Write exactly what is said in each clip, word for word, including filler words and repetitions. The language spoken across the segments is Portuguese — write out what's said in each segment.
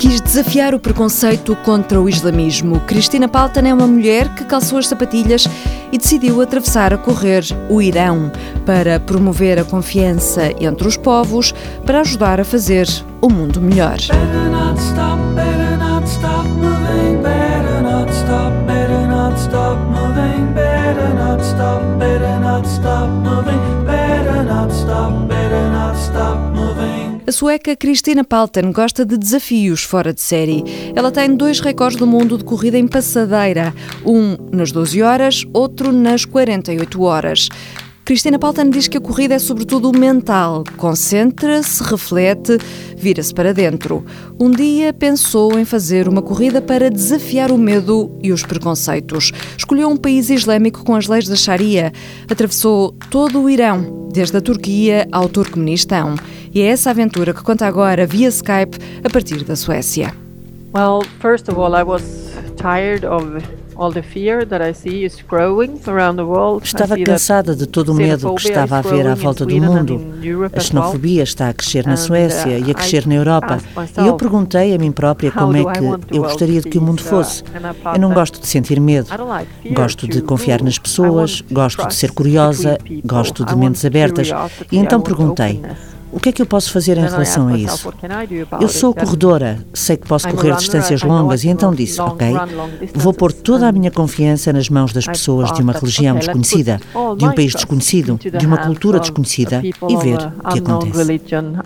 Quis desafiar o preconceito contra o islamismo. Cristina Paltan é uma mulher que calçou as sapatilhas e decidiu atravessar a correr o Irão para promover a confiança entre os povos, para ajudar a fazer o mundo melhor. A sueca Cristina Paltan gosta de desafios fora de série. Ela tem dois recordes do mundo de corrida em passadeira, um nas doze horas, outro nas quarenta e oito horas. Cristina Paltan diz que a corrida é sobretudo mental. Concentra-se, reflete, vira-se para dentro. Um dia pensou em fazer uma corrida para desafiar o medo e os preconceitos. Escolheu um país islâmico com as leis da Sharia. Atravessou todo o Irão, desde a Turquia ao Turcomenistão. E é essa aventura que conta agora via Skype a partir da Suécia. Well, first of all, I was tired of all the fear that I see is growing around the world. Estava cansada de todo o medo que estava a haver à volta do mundo. A xenofobia está a crescer na Suécia e a crescer na Europa. E eu perguntei a mim própria como é que eu gostaria de que o mundo fosse. Eu não gosto de sentir medo. Gosto de confiar nas pessoas, gosto de ser curiosa, gosto de mentes abertas. E então perguntei: o que é que eu posso fazer em relação a isso? Eu sou corredora, sei que posso correr distâncias longas e então disse, ok, vou pôr toda a minha confiança nas mãos das pessoas de uma religião desconhecida, de um país desconhecido, de uma cultura desconhecida e ver o que acontece.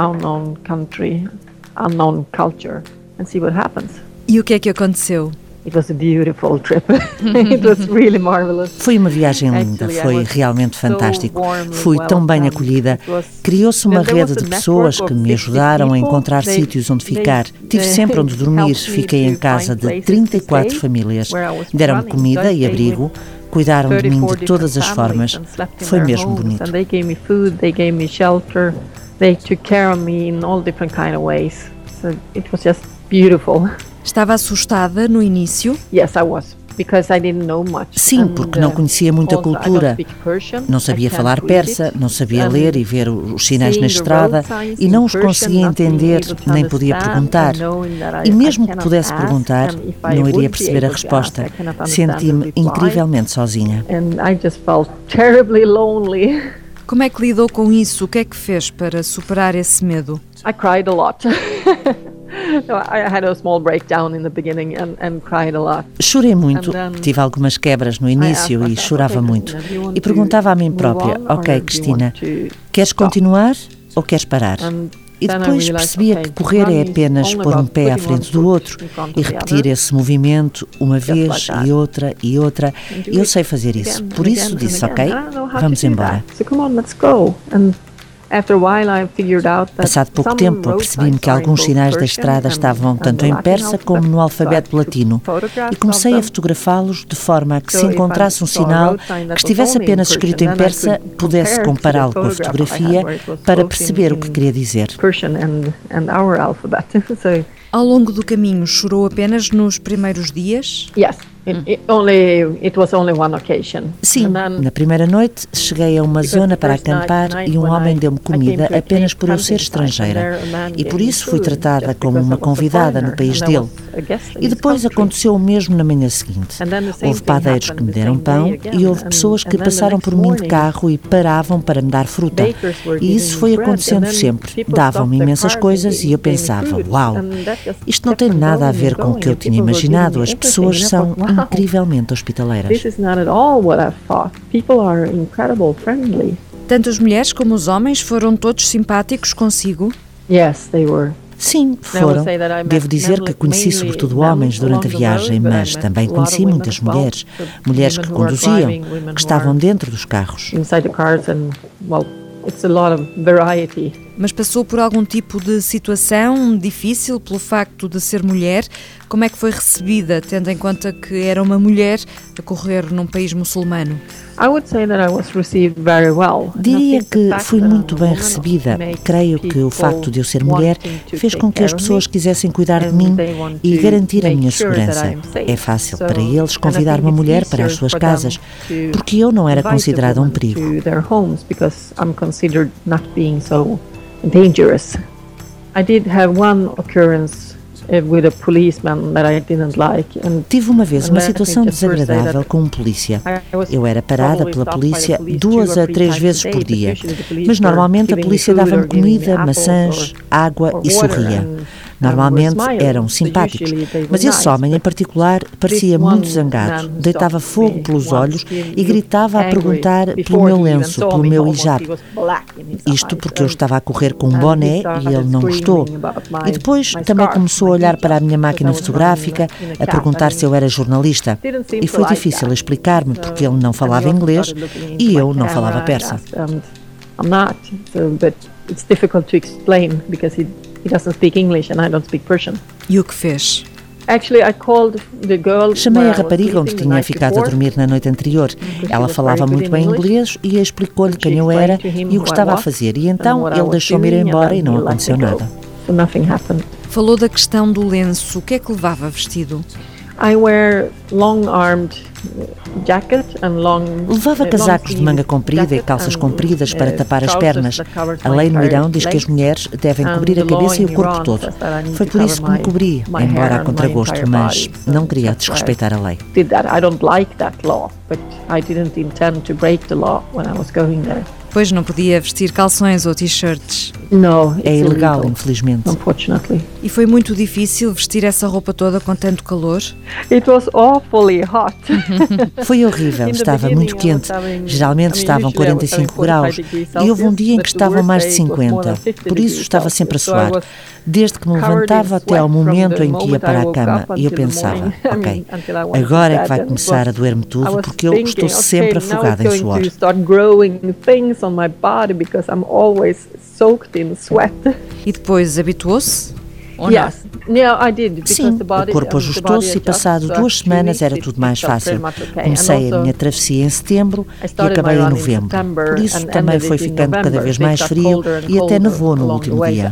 E o que é que aconteceu? It was a beautiful trip. It was really marvelous. Foi uma viagem linda, foi realmente fantástico. Fui tão bem acolhida. Criou-se uma rede de pessoas que me ajudaram a encontrar sítios onde ficar. Tive sempre onde dormir. Fiquei em casa de trinta e quatro famílias. Deram-me comida e abrigo. Cuidaram de mim de todas as formas. Foi mesmo bonito. They gave me food, they gave me shelter. They took care of me in all different kind of ways. So it was just beautiful. Estava assustada no início? Yes, I was. Because I didn't know much. Sim, porque não conhecia muita cultura. Não sabia falar persa, não sabia ler e ver os sinais na estrada e não os conseguia entender, nem podia perguntar. E mesmo que pudesse perguntar, não iria perceber a resposta. Senti-me incrivelmente sozinha. And I just felt terribly lonely. Como é que lidou com isso? O que é que fez para superar esse medo? I cried a lot. I had a small breakdown in the beginning and, and cried a lot. Chorei muito, tive algumas quebras no início e chorava muito. E perguntava a mim própria, ok, Cristina, queres continuar ou queres parar? E depois percebia que correr é apenas pôr um pé à frente do outro e repetir esse movimento uma vez e outra e outra. E eu sei fazer isso. Por isso disse, ok, vamos embora. Passado pouco tempo, apercebi-me que alguns sinais da estrada estavam tanto em persa como no alfabeto latino e comecei a fotografá-los de forma a que, se encontrasse um sinal que estivesse apenas escrito em persa, pudesse compará-lo com a fotografia para perceber o que queria dizer. Ao longo do caminho, chorou apenas nos primeiros dias? Yes. It, it only, it was only one occasion. Sim, na primeira noite cheguei a uma zona para acampar e um homem deu-me comida apenas por eu ser estrangeira e por isso fui tratada como uma convidada no país dele. E depois aconteceu o mesmo na manhã seguinte. Houve padeiros que me deram pão e houve pessoas que passaram por mim de carro e paravam para me dar fruta. E isso foi acontecendo sempre. Davam-me imensas coisas e eu pensava, uau, isto não tem nada a ver com o que eu tinha imaginado, as pessoas são incrivelmente hospitaleiras. This is not at all what I thought. People are incredible friendly. Tanto as mulheres como os homens foram todos simpáticos consigo? Yes, they were. Sim, foram. Devo dizer que conheci sobretudo homens durante a viagem, mas também conheci muitas mulheres. Mulheres que conduziam, que estavam dentro dos carros. Inside the cars and, well, it's a lot of variety. Mas passou por algum tipo de situação difícil pelo facto de ser mulher? Como é que foi recebida, tendo em conta que era uma mulher a correr num país muçulmano? Diria que fui muito bem recebida. Creio que o facto de eu ser mulher fez com que as pessoas quisessem cuidar de mim e garantir a minha segurança. É fácil para eles convidar uma mulher para as suas casas, porque eu não era considerada um perigo. Dangerous. I did have one occurrence with a policeman that I didn't like. And tive uma vez uma situação desagradável com um polícia. Eu era parada pela polícia duas a três vezes por dia, mas normalmente a polícia dava-me comida, maçãs, água e sorria. Normalmente eram simpáticos, mas esse homem em particular parecia muito zangado, deitava fogo pelos olhos e gritava a perguntar pelo meu lenço, pelo meu hijab. Isto porque eu estava a correr com um boné e ele não gostou. E depois também começou a olhar para a minha máquina fotográfica, a perguntar se eu era jornalista. E foi difícil explicar-me porque ele não falava inglês e eu não falava persa. I'm not, so, but it's difficult to explain because he, he doesn't speak English and I don't speak Persian. E o que fez? Actually, I called the girl. Chamei a rapariga onde tinha ficado a dormir na noite anterior. Ela falava muito bem inglês e explicou-lhe quem eu era e o que estava a fazer. E então ele deixou-me ir embora e não aconteceu nada. So nothing happened. Falou da questão do lenço. O que é que levava vestido? I wear long-armed jacket and long, Levava casacos de manga comprida e calças compridas para tapar as pernas. A lei no Irão diz que as mulheres devem cobrir a cabeça e o corpo todo. Foi por isso que me cobri, embora a contragosto, mas não queria desrespeitar a lei. Pois não podia vestir calções ou t-shirts. Não, é ilegal, infelizmente. E foi muito difícil vestir essa roupa toda com tanto calor? It was awfully hot. Foi horrível, estava muito quente. Geralmente estavam quarenta e cinco graus e houve um dia em que estavam mais de cinquenta. Por isso estava sempre a suar. Desde que me levantava até ao momento em que ia para a cama e eu pensava, ok, agora é que vai começar a doer-me tudo porque eu estou sempre afogada em suor. On my body because I'm always soaked in sweat. E depois habituou-se? Yes. Yeah, I did, Sim, o corpo ajustou-se e passado duas semanas era tudo mais fácil. Comecei a minha travessia em setembro e acabei em novembro. Por isso também foi ficando cada vez mais frio e até nevou no último dia.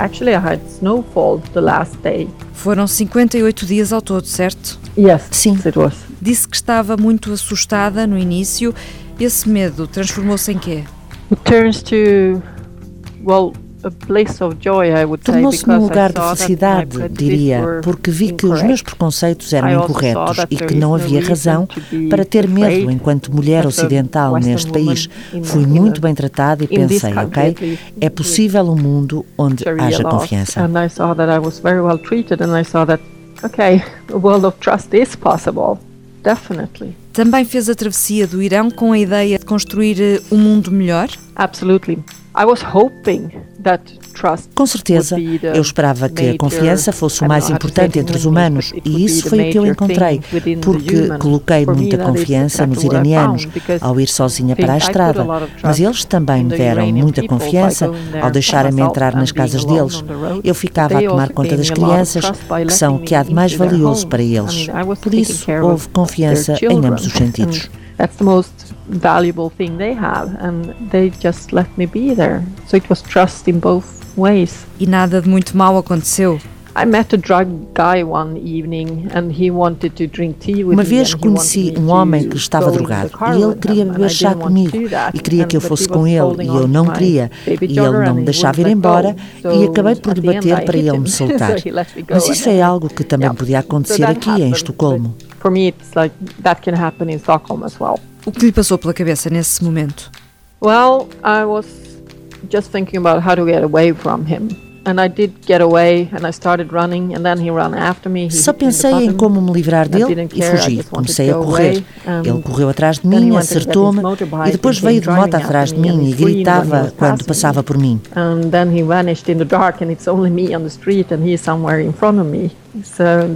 Foram cinquenta e oito dias ao todo, certo? Yes, sim. Disse que estava muito assustada no início. Esse medo transformou-se em quê? It turns to, well, a place of joy, I would say, tornou-se num lugar de felicidade, diria, porque vi que os meus preconceitos eram incorretos e que não havia razão para ter medo enquanto mulher ocidental neste país. Fui muito bem tratada e pensei, ok, é possível um mundo onde haja confiança. And I saw that I was very well treated and I saw that, okay, a world of trust is possible. Definitely. Também fez a travessia do Irão com a ideia de construir um mundo melhor? Absolutely. I was hoping that trust. Com certeza, eu esperava que a confiança fosse o mais importante entre os humanos e isso foi o que eu encontrei, porque coloquei muita confiança nos iranianos ao ir sozinha para a estrada, mas eles também me deram muita confiança ao deixarem-me entrar nas casas deles. Eu ficava a tomar conta das crianças, que são o que há de mais valioso para eles. Por isso, houve confiança em ambos os sentidos. That's the most valuable thing they have, and they just let me be there. So it was trust in both ways. E nada de muito mal aconteceu? I met a drug guy one evening and he wanted to drink tea with me. Uma vez conheci um homem que estava drogado e ele queria beber chá comigo e queria que eu fosse com ele e eu não queria e ele não me deixava ir embora e acabei por lhe bater para ele me soltar. Mas isso é algo que também podia acontecer aqui em Estocolmo. For me it's like that can happen in Stockholm as well. O que lhe passou pela cabeça nesse momento? Well, I was just thinking about how to get away from him. And I did get away and I started running and then he ran after me. Só pensei em como me livrar dele e fugi. Comecei a correr. Ele correu atrás de mim, acertou-me e depois veio de moto atrás de mim e gritava quando passava por mim. And then he vanished in the dark and it's only me on the street and he's somewhere in front of me. So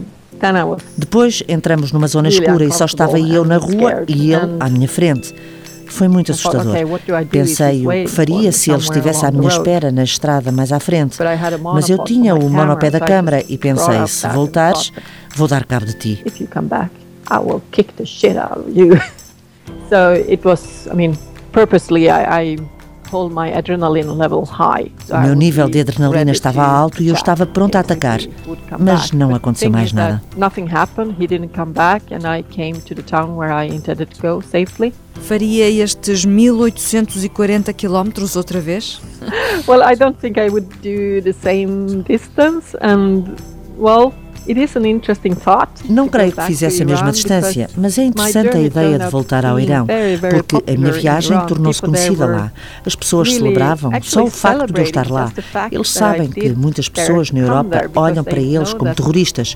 depois entramos numa zona escura e só estava eu na rua e ele à minha frente. Foi muito assustador. Pensei o que faria se ele estivesse à minha espera na estrada mais à frente. Mas eu tinha o monopé da câmara e pensei, se voltares, vou dar cabo de ti. So it was, I mean, purposely I, I hold my adrenaline level high. O meu nível de adrenalina estava alto e eu estava pronta a atacar, mas não aconteceu mais nada. Nothing happened. He didn't come back and I came to the town where I intended to go safely. Faria estes mil oitocentos e quarenta quilómetros outra vez? Well, I don't think I would do the same distance and well, Não creio que fizesse a mesma distância, mas é interessante a ideia de voltar ao Irão, porque a minha viagem tornou-se conhecida lá. As pessoas celebravam só o facto de eu estar lá. Eles sabem que muitas pessoas na Europa olham para eles como terroristas.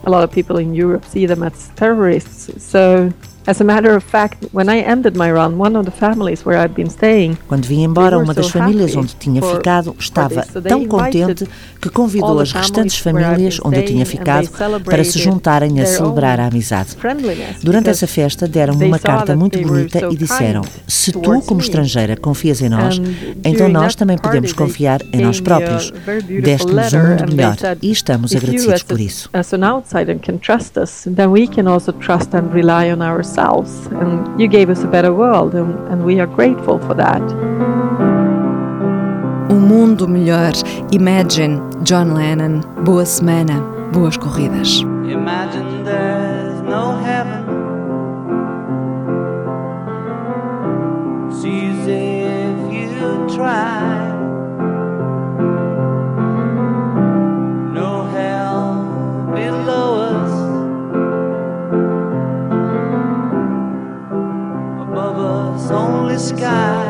As a matter of fact, when I ended my run, one of the families where I'd been staying, quando vim embora, uma das famílias onde tinha ficado estava tão contente que convidou as restantes famílias onde eu tinha ficado para se juntarem a celebrar a amizade. Durante essa festa deram-me uma carta muito bonita e disseram: se tu, como estrangeira, confias em nós, então nós também podemos confiar em nós próprios. Deste-nos um mundo melhor e estamos agradecidos por isso. As an outsider can trust us, then we can also trust and rely on ourselves. And you gave us a better world, and, and we are grateful for that. Um mundo melhor. Imagine, John Lennon. Boa semana, boas corridas. Imagine there's no heaven. It's easy if you try. No hell below us. Only sky.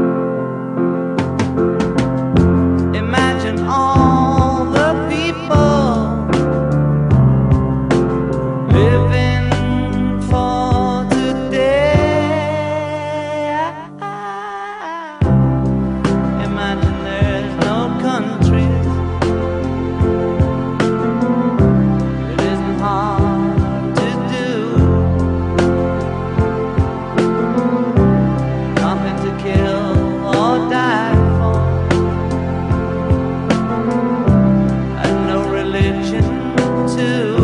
Imagine all the people living for today. Imagine there's no countries. It isn't hard to do. Kill or die for, and no religion too.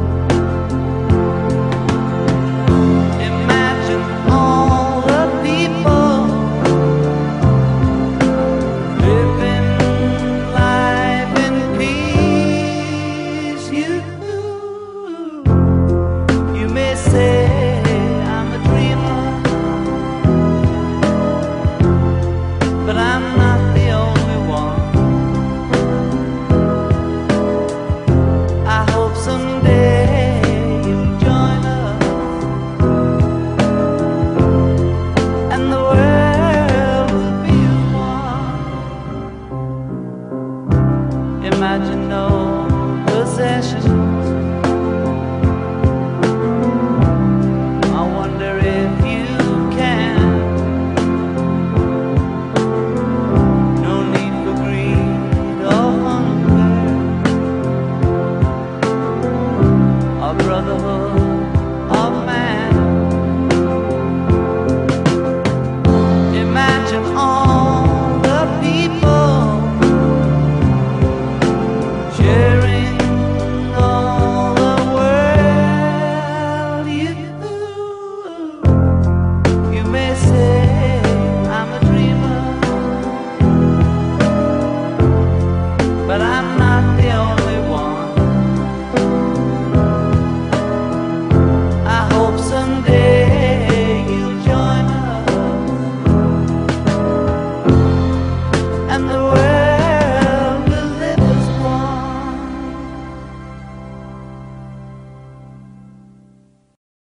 Imagine all the people living life in peace. You, you may say I'm a dreamer, but I'm not the only one. I hope someday you'll join us, and the world will be as one. Imagine no possessions. I wonder if you can. Brotherhood.